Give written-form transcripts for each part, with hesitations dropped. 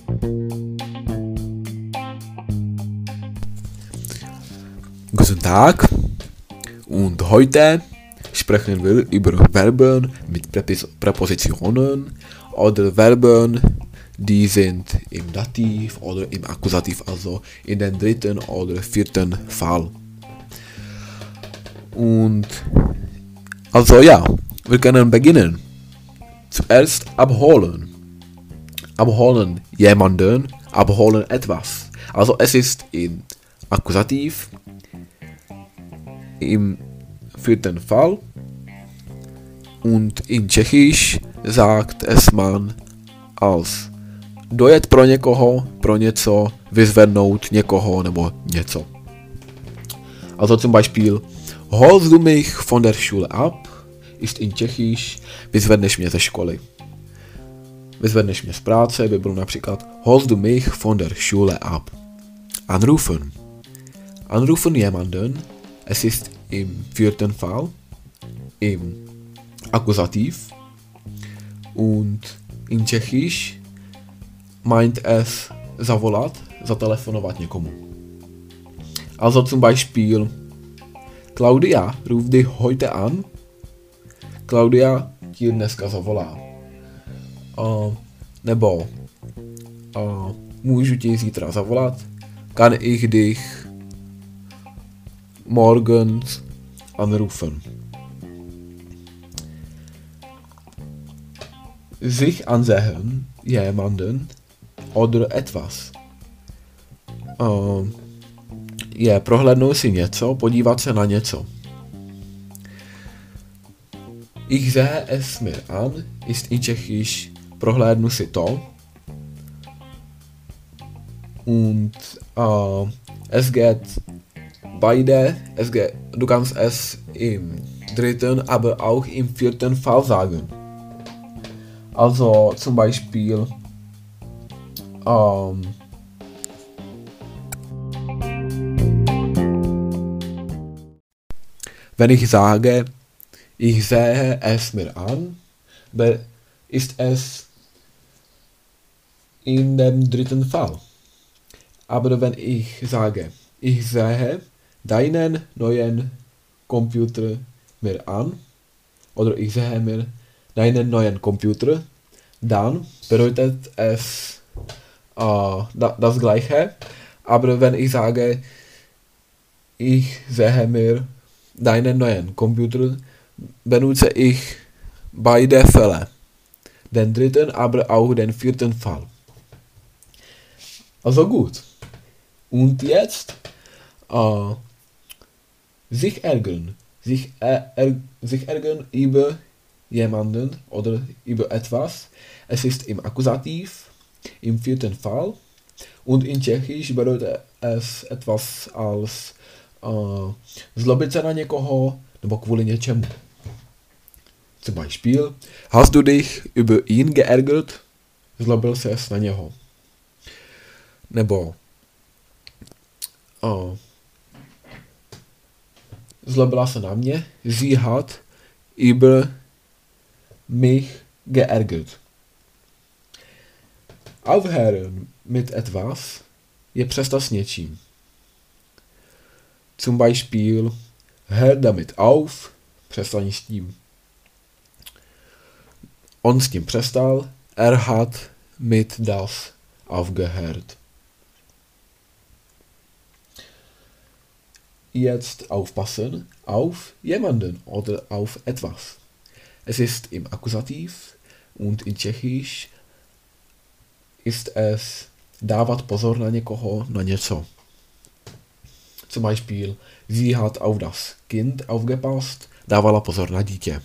Guten Tag und heute sprechen wir über Verben mit Präpositionen oder Verben, die sind im Dativ oder im Akkusativ, also in den dritten oder vierten Fall. Und also ja, wir können beginnen. Zuerst abholen. Abholen jemanden, abholen etwas. Also es ist im Akkusativ, im vierten Fall und in Čechisch sagt es man als dojet pro někoho, pro něco, vyzvednout někoho nebo něco. Also zum Beispiel, holst du mich von der Schule ab, ist in Čechisch, vyzvedneš mě ze školy. Vyzvedneš mě z práce by bylo například, holst du mich von der Schule ab. Anrufen. Anrufen jemanden, es ist im vierten Fall, im Akkusativ und in Čechisch meint es zavolat, zatelefonovat někomu. Also zum Beispiel, Claudia ruft dich heute an, Claudia ti dneska zavolá. Nebo můžu ti zítra zavolat, kann ich dich morgens anrufen. Sich ansehen, jemanden oder etwas. Je prohlédnout si něco, podívat se na něco. Ich sehe es mir an, ist in Tschechisch prohlédnu si to. Und es geht beide, du kannst es im dritten, aber auch im vierten Fall sagen. Also zum Beispiel wenn ich sage, ich sehe es mir an, ist es in dem dritten Fall. Aber wenn ich sage, ich sehe deinen neuen Computer mir an, oder ich sehe mir deinen neuen Computer, dann bedeutet es das Gleiche. Aber wenn ich sage, ich sehe mir deinen neuen Computer, benutze ich beide Fälle. Den dritten, aber auch den vierten Fall. Also gut. Und jetzt sich ärgern. Sich ärgern über jemanden oder über etwas. Es ist im Akkusativ, im vierten Fall. Und in Tschechisch bedeutet es etwas als zlobit se na někoho nebo kvůli něčemu. Zum Beispiel, hast du dich über ihn geärgert? Zlobil ses na něho. Nebo zlobila se na mě, sie hat über mich geärgert. Aufhören mit etwas je přestat s něčím. Zum Beispiel, hör damit auf, přestaň s tím. On s tím přestal, er hat mit das aufgehört. Jetzt aufpassen auf jemanden oder auf etwas. Es ist im Akkusativ und in Tschechisch ist es dávat pozor na někoho, na něco. Zum Beispiel, sie hat auf das Kind aufgepasst, dávala pozor na dítě.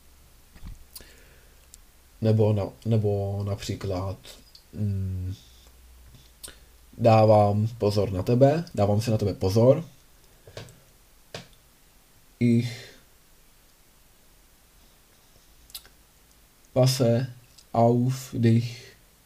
Nebo například dávám pozor na tebe, dávám si na tebe pozor. Ich passe auf dich.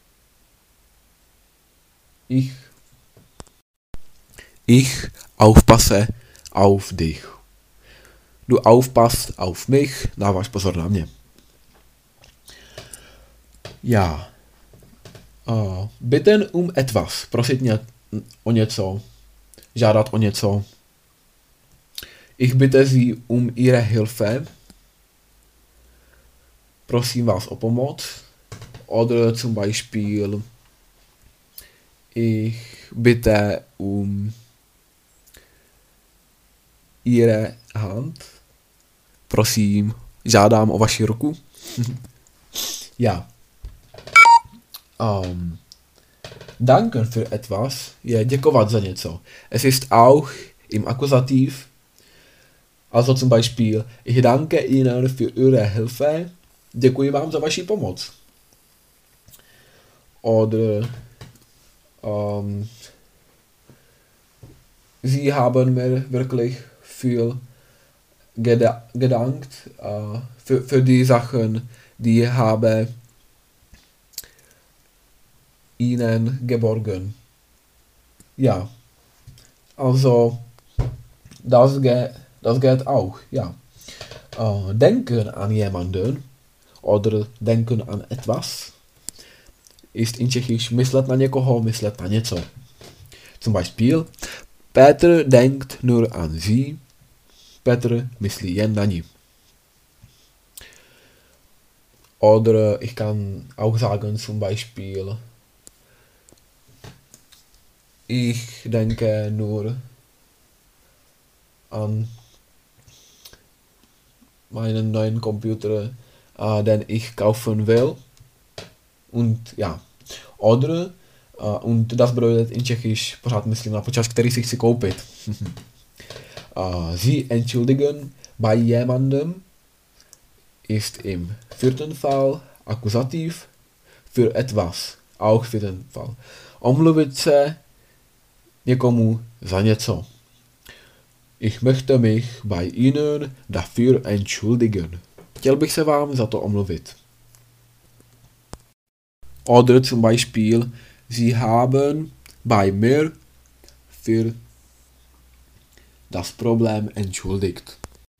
Ich aufpasse auf dich. Du aufpasst auf mich, dáváš pozor na mě. Ja. Bitten etwas, prosit o něco, žádat o něco. Ich bitte Sie Ihre Hilfe. Prosím vás o pomoc. Oder zum Beispiel ich bitte Ihre Hand. Prosím, žádám o vaši ruku. Ja. Danken für etwas je děkovat za něco. Es ist auch im Akkusativ. Also zum Beispiel, ich danke Ihnen für Ihre Hilfe. Děkuji vám za vaši pomoc. Oder Sie haben mir wirklich viel gedankt für die Sachen, die habe Ihnen geborgen. Ja, also das geht auch, ja. Denken an jemanden oder denken an etwas ist in Tschechisch myslet na někoho, myslet na něco. Zum Beispiel, Petr denkt nur an sie, Petr myslí jen na ní. Oder ich kann auch sagen zum Beispiel, ich denke nur an meinen neuen Computer, den ich kaufen will. Und ja. Oder, und das bedeutet in Tschechisch, pořád myslím na počas, který si chci koupit. Sie entschuldigen bei jemandem ist im vierten Fall Akkusativ für etwas, auch vierten Fall. Omluvit se někomu za něco. Ich möchte mich bei Ihnen dafür entschuldigen. Chtěl bych se vám za to omluvit. Oder zum Beispiel, Sie haben bei mir für das Problem entschuldigt.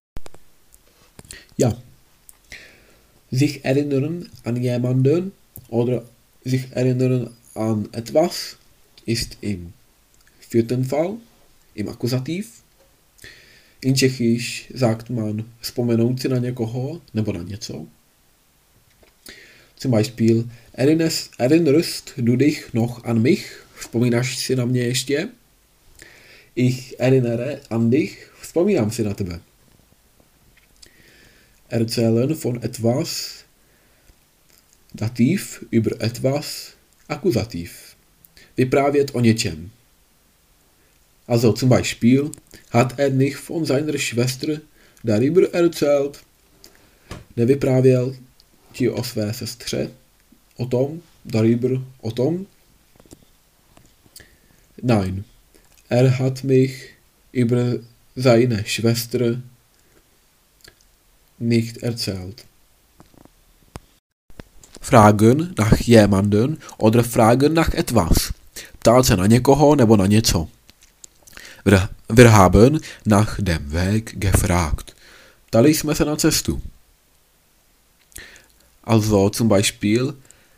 Ja. Sich erinnern an jemanden oder sich erinnern an etwas ist im vierten Fall, im Akkusativ. In Tschechisch sagt man vzpomenout si na někoho nebo na něco. Zum Beispiel, erinnerst du dich noch an mich? Vzpomínáš si na mě ještě? Ich erinnere an dich. Vzpomínám si na tebe. Erzählen von etwas. Dativ über etwas. Akkusativ. Vyprávět o něčem. Also zum Beispiel, hat nicht von seiner Schwester darüber erzählt? Nevyprávěl ti o své sestře? O tom? Darüber? O tom? Nein. Hat mich über seine Schwester nicht erzählt. Fragen nach jemanden oder fragen nach etwas. Ptát se na někoho nebo na něco. Wir haben nach dem Weg gefragt. Ptali jsme se na cestu. Also zum Beispiel,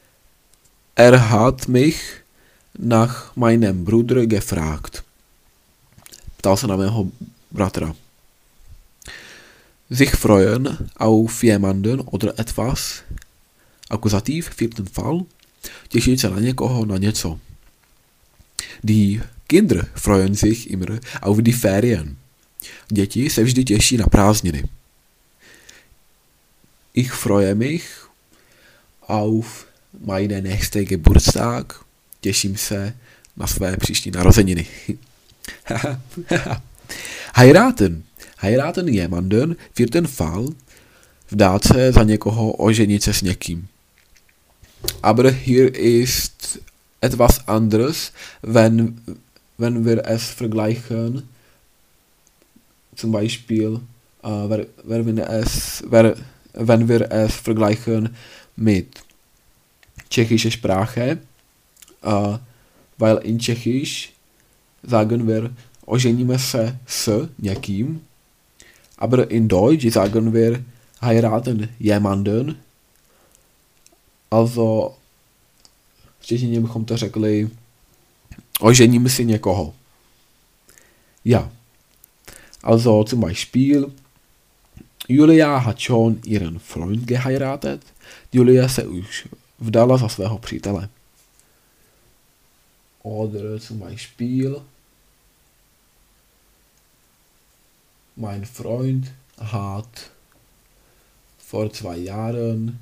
hat mich nach meinem Bruder gefragt. Ptal se na mého bratra. Sich freuen auf jemanden oder etwas. Akkusativ, vierten Fall. Těšit se na někoho, na něco. Die Kinder freuen sich immer auf die Ferien. Děti se vždy těší na prázdniny. Ich freue mich auf meine nächste Geburtstag. Těším se na své příští narozeniny. Heiraten. Heiraten jemanden, vierten Fall. Vdát se za někoho, oženit se s někým. Aber hier ist etwas anderes, wenn wir es vergleichen. Zum Beispiel, wenn wir es vergleichen mit tschechische Sprache, weil in Tschechisch sagen wir, oženíme se s někým, aber in Deutsch sagen wir, heiraten jemanden. Also V češtině bychom to řekli ožením si někoho. Ja. Also zum Beispiel Julia hat schon ihren Freund geheiratet. Julia se už vdala za svého přítele. Oder zum Beispiel mein Freund hat vor 2 Jahren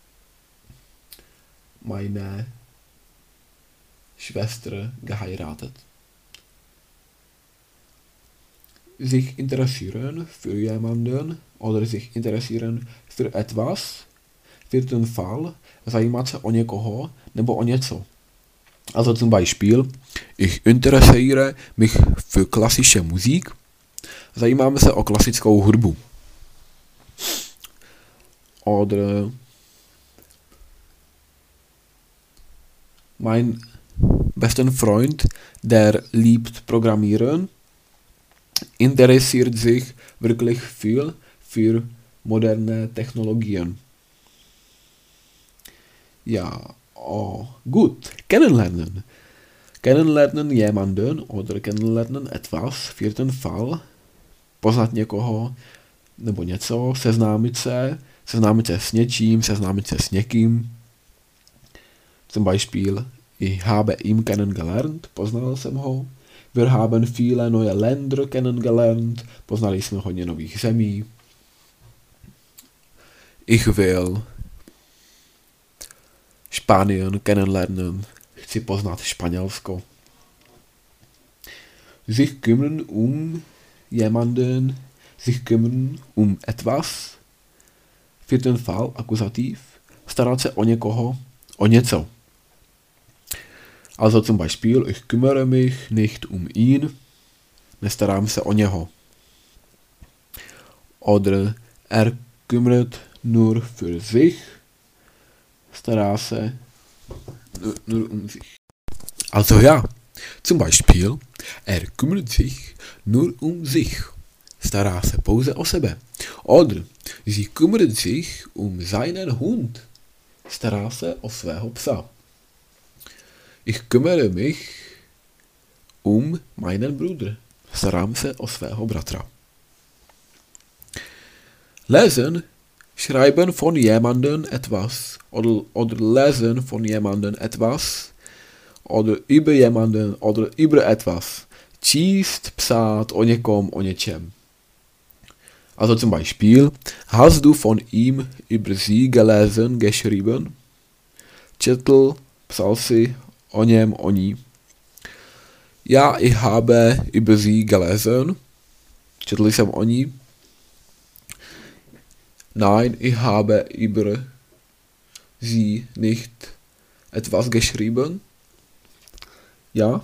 meine Schwester geheiratet. Sich interessieren für jemanden oder sich interessieren für etwas, für den Fall, zajímat se o někoho nebo o něco. Also zum Beispiel, ich interessiere mich für klassische Musik. Zajímáme se o klasickou hudbu. Oder mein besten Freund, der liebt Programmieren, interessiert sich wirklich viel für moderne Technologien. Ja, oh, gut. Kennenlernen. Kennenlernen jemanden oder kennenlernen etwas für den Fall, poznat někoho nebo něco, seznámit se s něčím, seznámit se s někým. Zum Beispiel, ich habe ihn kennengelernt, poznal jsem ho. Wir haben viele neue Länder kennengelernt, poznali jsme hodně nových zemí. Ich will Spanien kennenlernen, chci poznat Španělsko. Sich kümmern um jemanden, sich kümmern um etwas, für den Fall, akuzativ, starat se o někoho, o něco. Also zum Beispiel, ich kümmere mich nicht um ihn, nestarám se o něho. Oder er kümmert nur für sich, stará se nur um sich. Also ja, zum Beispiel, er kümmert sich nur um sich, stará se pouze o sebe. Oder sie kümmert sich um seinen Hund, stará se o svého psa. Ich kümmere mich um meinen Bruder. Starám se o svého bratra. Lesen, schreiben von jemandem etwas oder lesen von jemandem etwas oder über jemanden oder über etwas. Číst, psát o někom, o něčem. Also zum Beispiel, hast du von ihm über sie gelesen, geschrieben? Četl, psal si o něm, o ní. Ja, ich habe über sie gelesen. Četl jsem o ní. Nein, ich habe über sie nicht etwas geschrieben. Ja.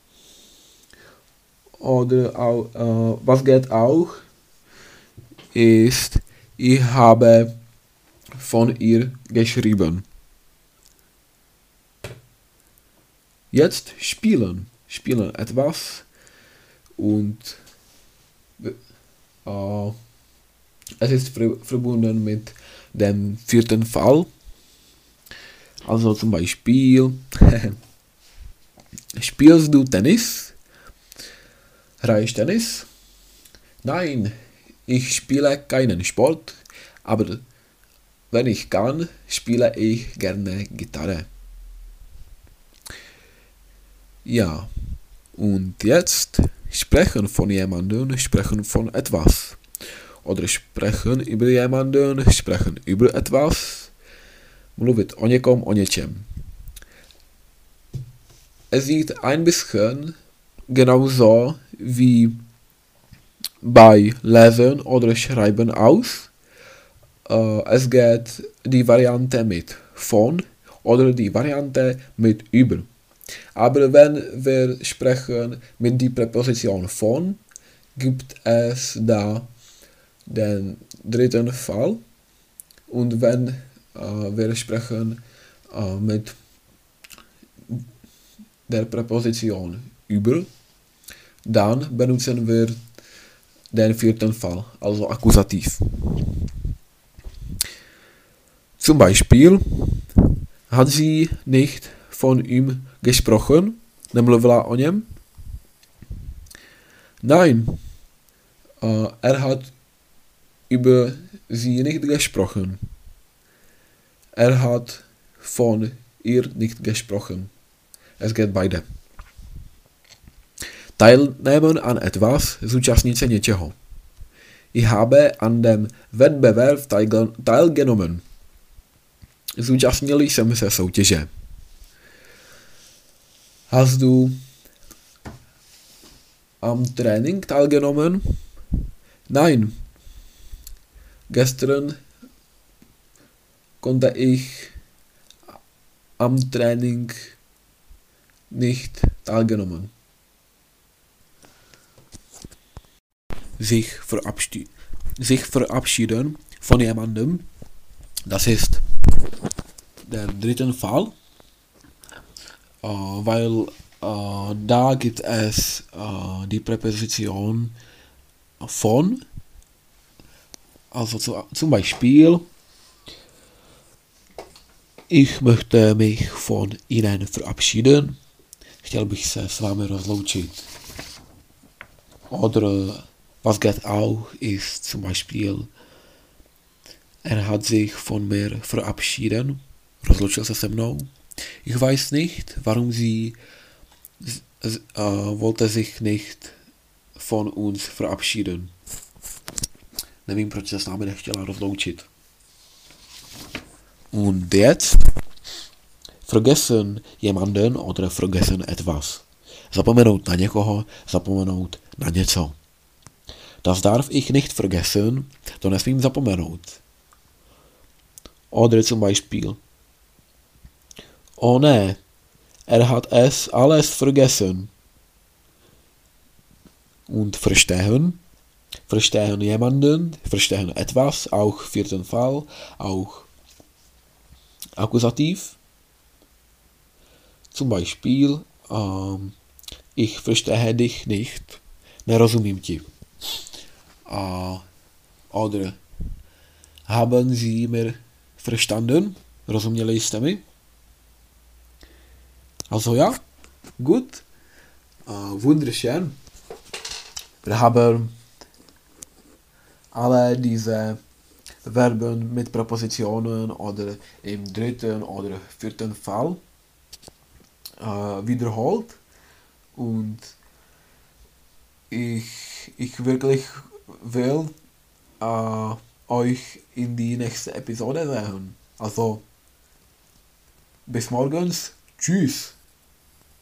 Oder was geht auch, ist, ich habe von ihr geschrieben. Jetzt spielen. Spielen etwas und es ist verbunden mit dem vierten Fall. Also zum Beispiel, spielst du Tennis? Hraješ Tennis? Nein, ich spiele keinen Sport, aber wenn ich kann, spiele ich gerne Gitarre. Ja, und jetzt sprechen von jemandem, sprechen von etwas. Oder sprechen über jemanden, sprechen über etwas. Mluvit o někom, o něčem. Es sieht ein bisschen genauso wie bei Lesen oder Schreiben aus. Es geht die Variante mit von oder die Variante mit über. Aber wenn wir sprechen mit der Präposition von, gibt es da den dritten Fall. Und wenn wir sprechen mit der Präposition über, dann benutzen wir den vierten Fall, also Akkusativ. Zum Beispiel hat sie nicht von ihm gesprochen? Nemluvila o něm? Nein, er hat über sie nicht gesprochen. Er hat von ihr nicht gesprochen. Es geht beide. Teilnehmen an etwas, zúčastnit se něčeho. Ich habe an dem Wettbewerb teilgenommen. Zúčastnil jsem se soutěže. Hast du am Training teilgenommen? Nein. Gestern konnte ich am Training nicht teilgenommen. Sich verabschieden von jemandem, das ist der dritte Fall, weil da gibt es die Präposition von, also zum Beispiel, ich möchte mich von Ihnen verabschieden, chtěl bych se s vámi rozloučit. Oder was geht auch ist zum Beispiel, er hat sich von mir verabschieden, rozloučil se mnou. Ich weiß nicht, warum sie wollte sich nicht von uns verabschieden. Nevím, proč se s námi nechtěla rozloučit. Und jetzt vergessen jemanden oder vergessen etwas. Zapomenout na někoho, zapomenout na něco. Das darf ich nicht vergessen, to nesmím zapomenout. Oder zum Beispiel, oh ne, er hat es alles vergessen. Und verstehen jemanden, verstehen etwas, auch vierten Fall, auch Akkusativ. Zum Beispiel, ich verstehe dich nicht, nerozumím ti. Oder haben Sie mir verstanden? Rozuměli jste mi? Also ja, gut. Wunderschön. Wir haben alle diese Verben mit Präpositionen oder im dritten oder vierten Fall wiederholt. Und ich wirklich will euch in die nächste Episode sehen. Also bis morgens. Tschüss.